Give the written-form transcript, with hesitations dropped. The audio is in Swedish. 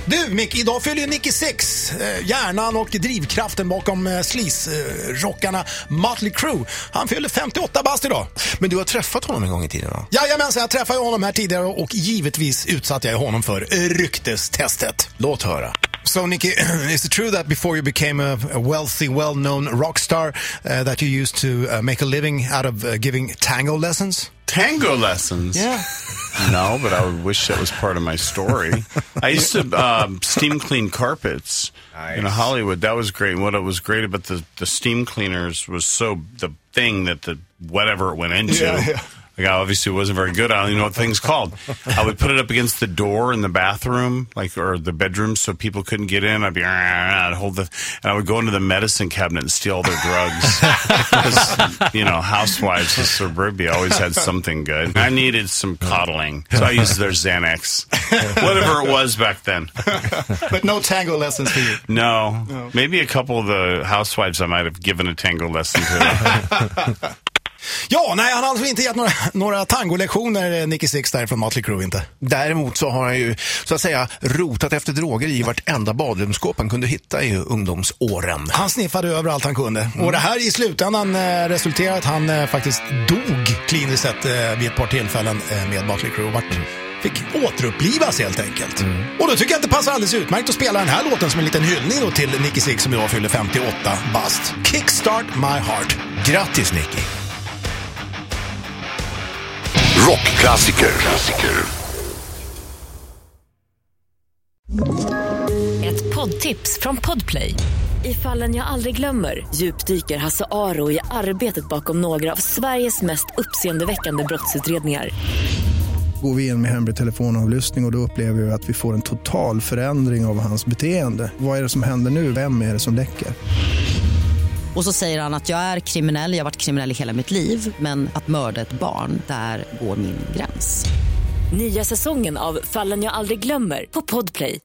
Du Mick, idag fyller ju Nicky Six, hjärnan och drivkraften bakom sleaze-rockarna Mötley Crüe. Han fyller 58 bast idag. Men du har träffat honom en gång i tiden va? Jajamensan, jag träffade honom här tidigare och givetvis utsatte jag honom för ryktestestet. Låt höra. So Nicky, is it true that before you became a wealthy, well-known rock star that you used to make a living out of giving tango lessons? Tango lessons? Yeah. No, but I would wish that was part of my story. I used to steam clean carpets in Hollywood. That was great. And what was great about the steam cleaners was the thing that the whatever it went into. Yeah. Like, I obviously wasn't very good. I don't even know what the thing's called. I would put it up against the door in the bathroom, or the bedroom, so people couldn't get in. I'd and I would go into the medicine cabinet and steal all their drugs. Because, housewives in suburbia always had something good. I needed some coddling, so I used their Xanax. Whatever it was back then. But no tango lessons for you? No. Maybe a couple of the housewives I might have given a tango lesson to. Ja, nej, han har alltså inte gett några tangolektioner, Nicky Six där från Mötley Crüe inte. Däremot så har han ju, så att säga, rotat efter droger i vartenda badrumsskåp han kunde hitta i ungdomsåren. Han sniffade överallt han kunde. Och det här i slutändan resulterade att han faktiskt dog kliniskt sett vid ett par tillfällen med Mötley Crüe. Fick återupplivas helt enkelt. Och då tycker jag att det passar alldeles utmärkt att spela den här låten som en liten hyllning då till Nicky Six som idag fyller 58 bast. Kickstart My Heart. Grattis Nicky! Rockklassiker. Ett poddtips från Podplay. I Fallen jag aldrig glömmer djupdyker Hasse Aro i arbetet bakom några av Sveriges mest uppseendeväckande brottsutredningar. Går vi in med hemlig telefonavlyssning och då upplever vi att vi får en total förändring av hans beteende. Vad är det som händer nu? Vem är det som läcker? Och så säger han att jag är kriminell, jag har varit kriminell i hela mitt liv. Men att mörda ett barn, där går min gräns. Nya säsongen av Fallen jag aldrig glömmer på Podplay.